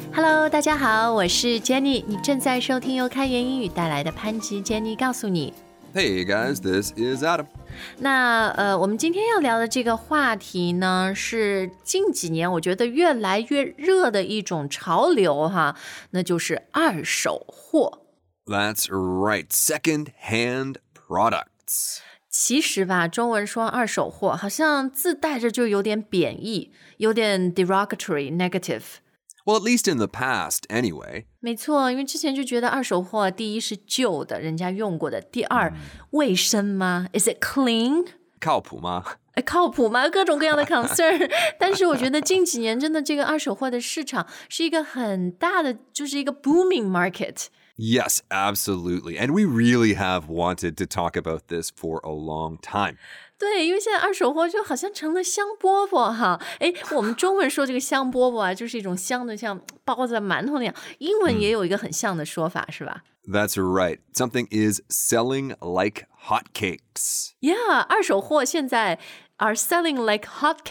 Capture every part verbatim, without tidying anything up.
Hello， 大家好，我是 Jenny， 你正在收听由开言英语带来的潘吉 Jenny 告诉你。 Hey guys, this is Adam. 那呃，我们今天要聊的这个话题呢，是近几年我觉得越来越热的一种潮流哈，那就是二手货。 That's right, second-hand products. 其实吧，中文说二手货，好像自带着就有点贬义，有点 derogatory, negative。Well, at least in the past, anyway. 没错，因为之前就觉得二手货，第一是旧的，人家用过的；第二，卫生吗 ？Is it clean？ 靠谱吗？ 靠谱吗？各种各样的 concern。但是我觉得近几年真的这个二手货的市场是一个很大的，就是一个 booming market。Yes, absolutely. And we really have wanted to talk about this for a long time. 对，因为现在二手货就好像成了香饽饽哈。诶，我们中文说这个香饽饽啊，就是一种香的像包子馒头那样，英文也有一个很像的说法，是吧？ That's right. Something is selling like hotcakes. Yeah, 二手货现在 are selling like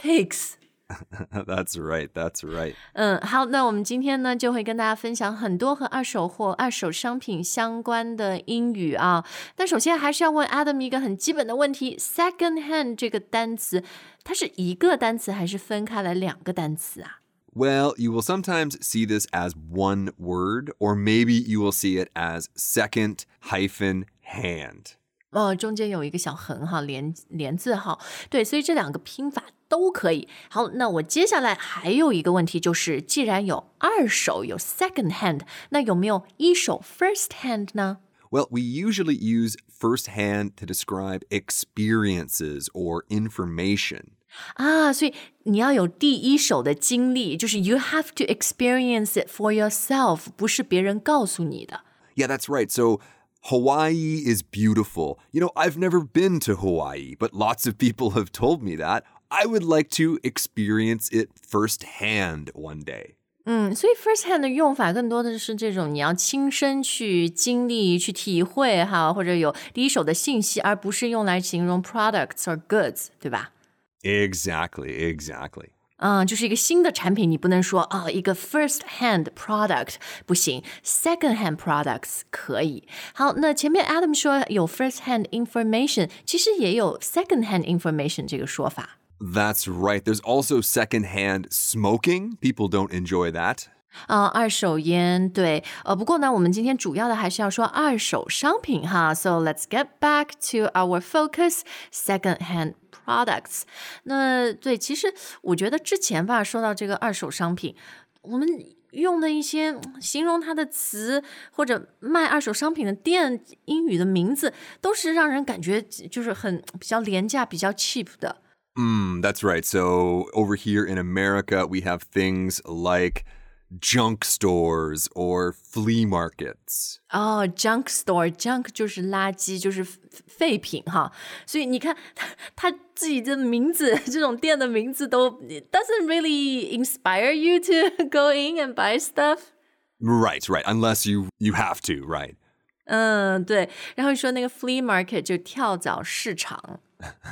hotcakes.That's right, that's right. 嗯，好，那我们今天呢就会跟大家分享很多和二手货、二手商品相关的英语啊。但首先还是要问 Adam 一个很基本的问题 ：second hand 这个单词，它是一个单词还是分开来两个单词啊？ Well, you will sometimes see this as one word, or maybe you will see it as second hyphen hand. 哦，中间有一个小横哈，连连字号。对，所以这两个拼法都可以。好，那我接下来还有一个问题，就是既然有二手有 second hand， 那有没有一手 first hand 呢？ Well, we usually use first hand to describe experiences or information. 啊，所以你要有第一手的经历，就是 you have to experience it for yourself， 不是别人告诉你的。 Yeah, that's right. So Hawaii is beautiful. You know, I've never been to Hawaii, but lots of people have told me that. I would like to experience it firsthand one day. 嗯，所以 first hand 的用法更多的是这种你要亲身去经历、去体会哈，或者有第一手的信息，而不是用来形容 products or goods， 对吧？ Exactly, exactly. 嗯，就是一个新的产品，你不能说啊、哦，一个 first hand product 不行 ，second hand products 可以。好，那前面 Adam 说有 first hand information， 其实也有 second hand information 这个说法。 That's right. There's also second-hand smoking. People don't enjoy that. 啊、呃，二手烟，对，呃，不过呢，我们今天主要的还是要说二手商品哈。So let's get back to our focus, second-hand products. 那对，其实我觉得之前吧，说到这个二手商品，我们用的一些形容它的词或者卖二手商品的店英语的名字，都是让人感觉就是很比较廉价、比较 cheap 的。 Mm, that's right. So over here in America, we have things like junk stores or flea markets. 哦、oh, junk store, junk 就是垃圾，就是废品哈。所以你看，他他自己的名字，这种店的名字都 doesn't really inspire you to go in and buy stuff. Right, right. Unless you you have to, right? 嗯，对。然后说那个 flea market 就跳蚤市场。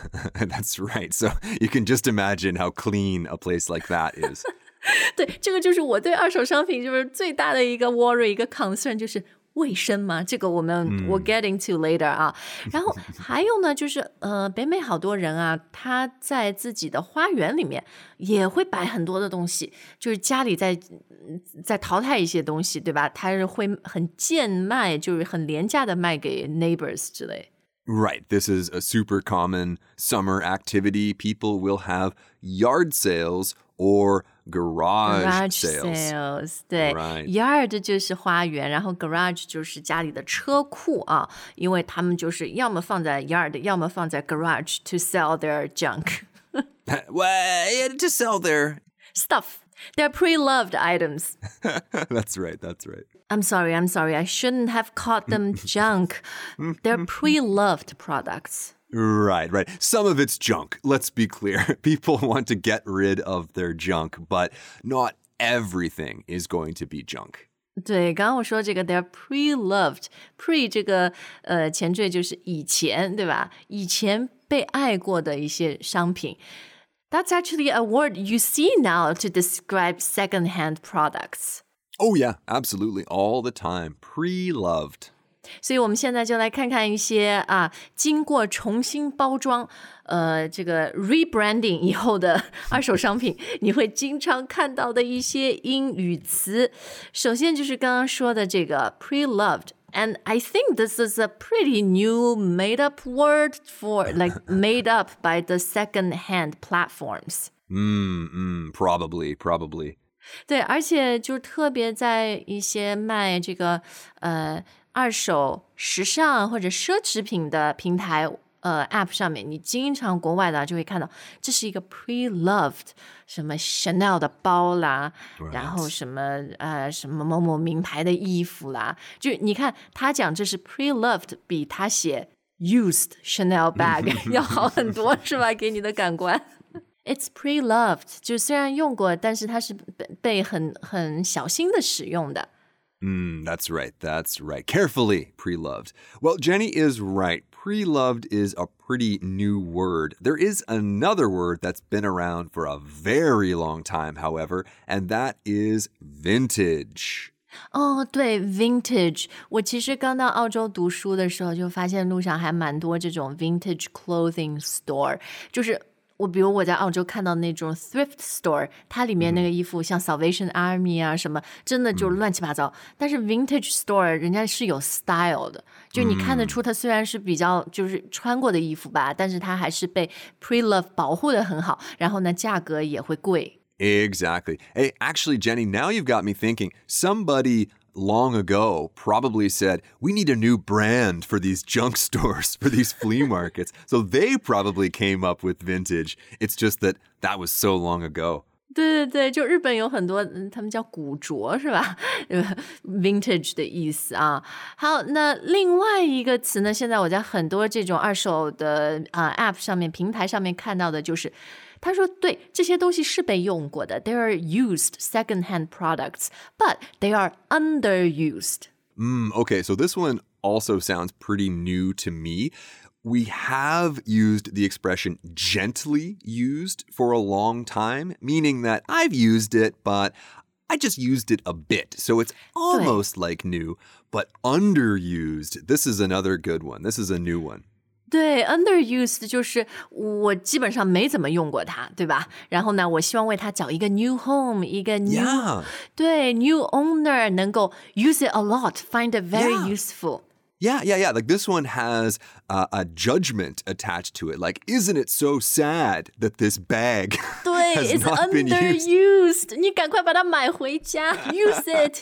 That's right. So you can just imagine how clean a place like that is. 对，这个就是我对二手商品就是最大的一个 worry， 一个 concern 就是卫生嘛，这个我们、嗯、we'll get into later 啊。然后还有呢，就是呃，北美好多人啊，他在自己的花园里面也会摆很多的东西，就是家里在在淘汰一些东西，对吧？他是会很贱卖，就是很廉价的卖给 neighbors 之类。 Right. This is a super common summer activity. People will have yard sales or garage, garage sales. sales 对、 right. Yard 就是花园，然后 garage 就是家里的车库啊，因为他们就是要么放在 yard， 要么放在 garage to sell their junk. Well, to sell their stuff. They're pre-loved items. That's right, that's right. I'm sorry, I'm sorry. I shouldn't have called them junk. They're pre-loved products. Right, right. Some of it's junk. Let's be clear. People want to get rid of their junk, but not everything is going to be junk. 对，刚刚我说这个 they're pre-loved. Pre 这个呃前缀就是以前，对吧？以前被爱过的一些商品。That's actually a word you see now to describe second-hand products. Oh, yeah, absolutely. All the time. Pre-loved. 所以我们现在就来看看一些啊，经过重新包装，呃，这个 rebranding 以后的二手商品，你会经常看到的一些英语词。首先就是刚刚说的这个 pre-loved。And I think this is a pretty new made-up word for, like, made up by the second-hand platforms. Mm, mm, probably, probably. 对，而且就特别在一些卖这个呃二手时尚或者奢侈品的平台呃 App 上面，你经常国外的就会看到，这是一个 pre-loved 什么 Chanel 的包啦， Right. 然后什么呃什么某某名牌的衣服啦，就你看他讲这是 pre-loved， 比他写 used Chanel bag 要好很多，是吧？给你的感官。It's pre-loved， 就虽然用过，但是它是被很很小心的使用的。 Mm, that's right. That's right. Carefully pre-loved. Well, Jenny is right. Pre-loved is a pretty new word. There is another word that's been around for a very long time, however, and that is vintage. 哦，对 ，vintage。我其实刚到澳洲读书的时候，就发现路上还蛮多这种 vintage clothing store，就是我比如我在澳洲看到那种 thrift store， 它里面那个衣服像 Salvation Army 啊什么，真的就乱七八糟。但是 vintage store 人家是有 style 的，就你看得出它虽然是比较就是穿过的衣服吧，但是它还是被 pre-love 保护得很好，然后呢价格也会贵。 Exactly. Hey, actually, Jenny, now you've got me thinking. Somebody long ago probably said, we need a new brand for these junk stores, for these flea markets. So they probably came up with vintage. It's just that that was so long ago. 对对对，就日本有很多，他们叫古着是吧？vintage 的意思啊。好，那另外一个词呢，现在我在很多这种二手的啊、呃、App 上面、平台上面看到的就是。他说对，这些东西是被用过的 They are used second-hand products, but they are underused. Mm, okay, so this one also sounds pretty new to me. We have used the expression gently used for a long time, meaning that I've used it, but I just used it a bit. So it's almost like new, but underused. This is another good one. This is a new one. 对 underused 就是我基本上没怎么用过它，对吧？然后呢，我希望为它找一个 new home， 一个 new Yeah. 对 new owner 能够 use it a lot, find it very Yeah. useful. Yeah, yeah, yeah. Like this one has uh, a judgment attached to it. Like, isn't it so sad that this bag 对 has it's not been used? underused. 你赶快把它买回家 use it.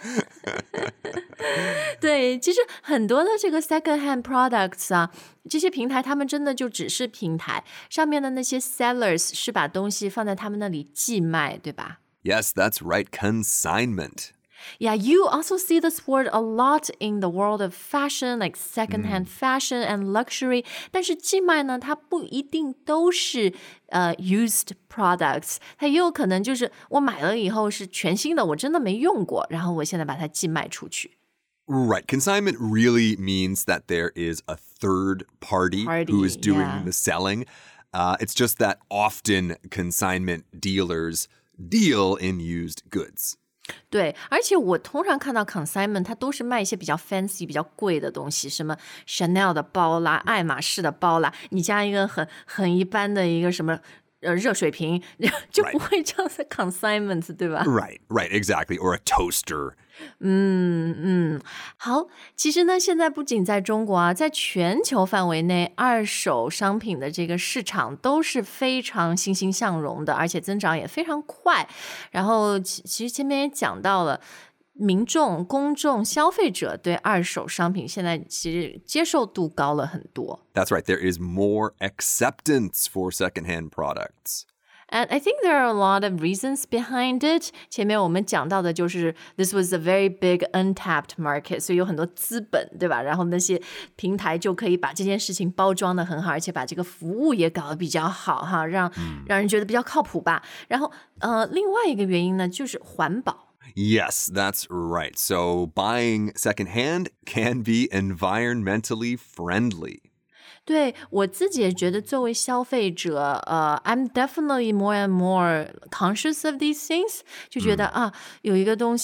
对，其实很多的这个 second-hand products 啊，这些平台他们真的就只是平台，上面的那些 sellers 是把东西放在他们那里寄卖，对吧？ Yes, that's right. Consignment. Yeah, you also see this word a lot in the world of fashion, like second-hand fashion and luxury. 但是寄卖呢，它不一定都是呃 used products， 它也有可能就是我买了以后是全新的，我真的没用过，然后我现在把它寄卖出去。 Right. Consignment really means that there is a third party, Party, who is doing yeah. the selling. Uh, it's just that often consignment dealers deal in used goods. 对，而且我通常看到 consignment 它都是卖一些比较 fancy 比较贵的东西，什么 Chanel 的包啦，爱马仕的包啦，你加一个很很一般的一个什么呃热水瓶，就不会叫做 consignment， 对吧？ Right, right, exactly. Or a toaster. 嗯嗯，好，其实呢，现在不仅在中国啊，在全球范围内，二手商品的这个市场都是非常欣欣向荣的，而且增长也非常快。然后，其其实前面也讲到了。民众、公众、消费者对二手商品现在其实接受度高了很多。 That's right. There is more acceptance for secondhand products. And I think there are a lot of reasons behind it. 前面我们讲到的就是 this was a very big untapped market, 所以有很多资本，对吧？然后那些平台就可以把这件事情包装得很好，而且把这个服务也搞得比较好哈，让、嗯、让人觉得比较靠谱吧。然后呃，另外一个原因呢，就是环保。 Yes, that's right. So buying secondhand can be environmentally friendly. 对，我自己也觉得作为消费者，呃 I'm definitely more and more conscious of these things. 就觉得、嗯、啊，有一个东西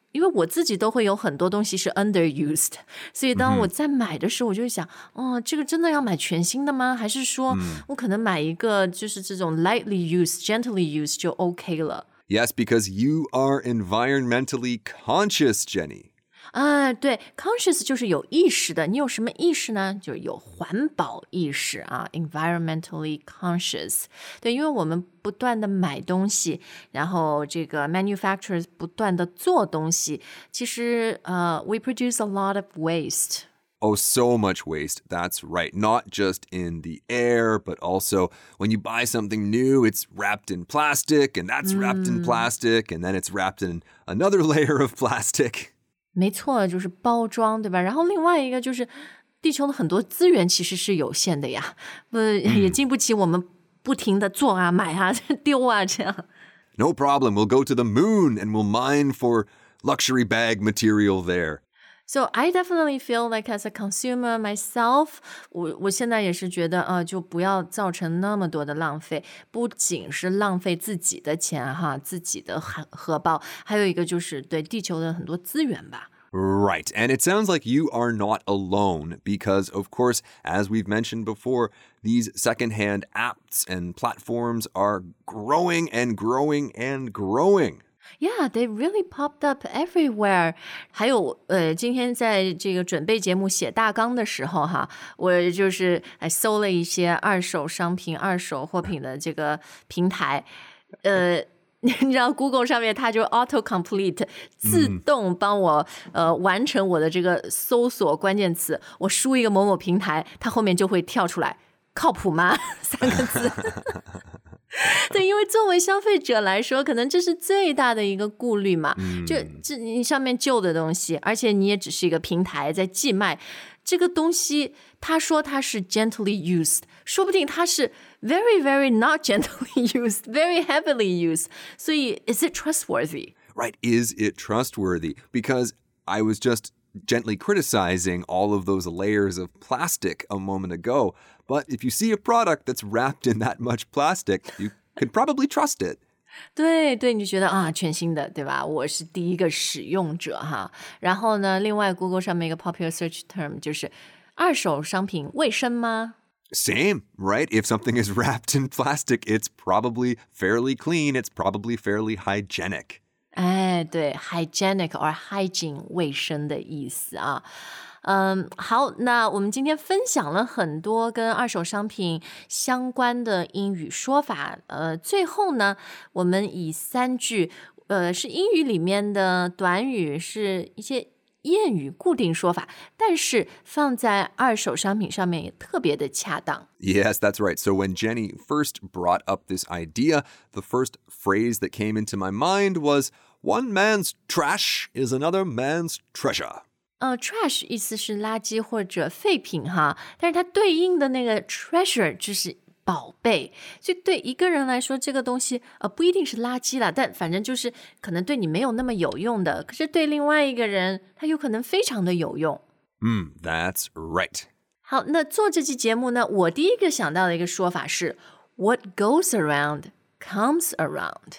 因为我自己都会有很多东西是 underused， 所以当我在买的时候，我就会想，哦，这个真的要买全新的吗？还是说我可能买一个就是这种 lightly used, gently used 就 OK 了。 Yes, because you are environmentally conscious, Jenny. 啊，对 conscious 就是有意识的，你有什么意识呢？就是有环保意识啊 environmentally conscious。 对，因为我们不断的买东西，然后这个 manufacturers 不断的做东西，其实呃 we produce a lot of waste. Oh, so much waste. That's right. Not just in the air, but also when you buy something new, it's wrapped in plastic, and that's wrapped in plastic, and then it's wrapped in another layer of plastic. 没错，就是包装，对吧？然后另外一个就是地球的很多资源其实是有限的呀，不、也经不起我们不停的做啊、买啊、丢啊这样。 No problem. We'll go to the moon and we'll mine for luxury bag material there. So I definitely feel like as a consumer myself, 我我现在也是觉得，呃，就不要造成那么多的浪费，不仅是浪费自己的钱哈，自己的荷荷包，还有一个就是对地球的很多资源吧。 Right. And it sounds like you are not alone because, of course, as we've mentioned before, these secondhand apps and platforms are growing and growing and growing.Yeah, they really popped up everywhere. 还有呃，今天在这个准备节目写大纲的时候哈，我就是哎搜了一些二手商品、二手货品的这个平台，呃。你知道 Google 上面它就 auto complete 自动帮我、嗯、呃完成我的这个搜索关键词，我输一个某某平台，它后面就会跳出来靠谱吗三个字。对，因为作为消费者来说，可能这是最大的一个顾虑嘛。嗯、就这你上面旧的东西，而且你也只是一个平台在寄卖这个东西，他说它是 gently used， 说不定它是 very very not gently used, very heavily used。所以 is it trustworthy? Right, is it trustworthy? Because I was just gently criticizing all of those layers of plastic a moment ago. But if you see a product that's wrapped in that much plastic, you could probably trust it. 对对，你就觉得啊，全新的，对吧？我是第一个使用者哈。然后呢，另外 Google 上面一个 popular search term 就是二手商品卫生吗？ Same, right? If something is wrapped in plastic, it's probably fairly clean. It's probably fairly hygienic. 哎，对 hygienic or hygiene 卫生的意思啊。嗯，好，那我们今天分享了很多跟二手商品相关的英语说法。呃，最后呢，我们以三句，呃，是英语里面的短语，是一些谚语固定说法，但是放在二手商品上面也特别的恰当。 Yes, that's right. So when Jenny first brought up this idea, the first phrase that came into my mind was, "One man's trash is another man's treasure." 呃 trash 意思是垃圾或者废品哈，但是它对应的那个 treasure 就是宝贝，所以对一个人来说，这个东西呃不一定是垃圾啦，但反正就是可能对你没有那么有用的，可是对另外一个人，它有可能非常的有用。 嗯 that's right. 好，那做这期节目呢，我第一个想到的一个说法是 What goes around comes around.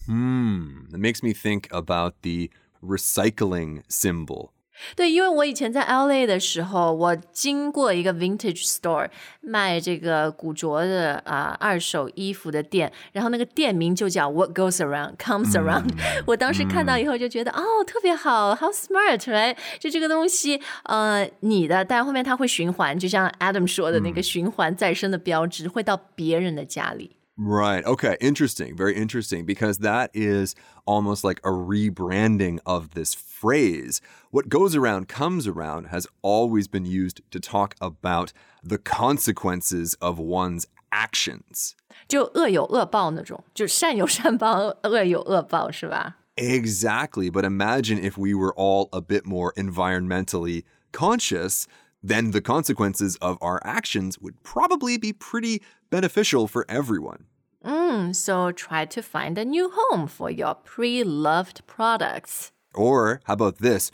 Hmm, it makes me think about the recycling symbol. 对，因为我以前在 L A 的时候，我经过一个 vintage store 卖这个古着的啊、呃、二手衣服的店，然后那个店名就叫 What goes around comes around、嗯、我当时看到以后就觉得、嗯、哦特别好 how smart right 就这个东西呃你的，但后面它会循环，就像 Adam 说的那个循环再生的标志、嗯、会到别人的家里。 Right. Okay. Interesting. Very interesting because that is almost like a rebranding of this phrase. What goes around comes around has always been used to talk about the consequences of one's actions. 就恶有恶报那种，就善有善报，恶有恶报，是吧？ Exactly. But imagine if we were all a bit more environmentally conscious, then the consequences of our actions would probably be pretty beneficial for everyone. Mm, so try to find a new home for your pre-loved products. Or how about this?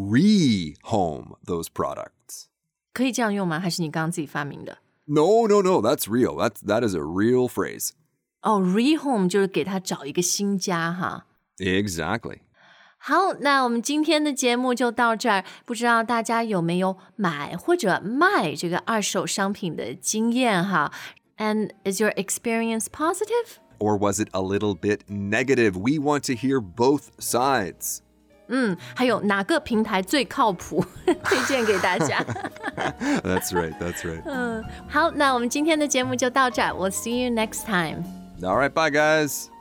Re-home those products. 可以这样用吗？还是你刚刚自己发明的？ No, no, no. That's real. That's, that is a real phrase. 哦、oh, re-home 就是给他找一个新家哈。 Exactly. 好，那我们今天的节目就到这儿。不知道大家有没有买或者卖这个二手商品的经验哈 ？And is your experience positive? Or was it a little bit negative? We want to hear both sides. 嗯，还有哪个平台最靠谱？推荐给大家。 That's right, that's right. 嗯，好，那我们今天的节目就到这儿。We'll see you next time. All right, bye guys.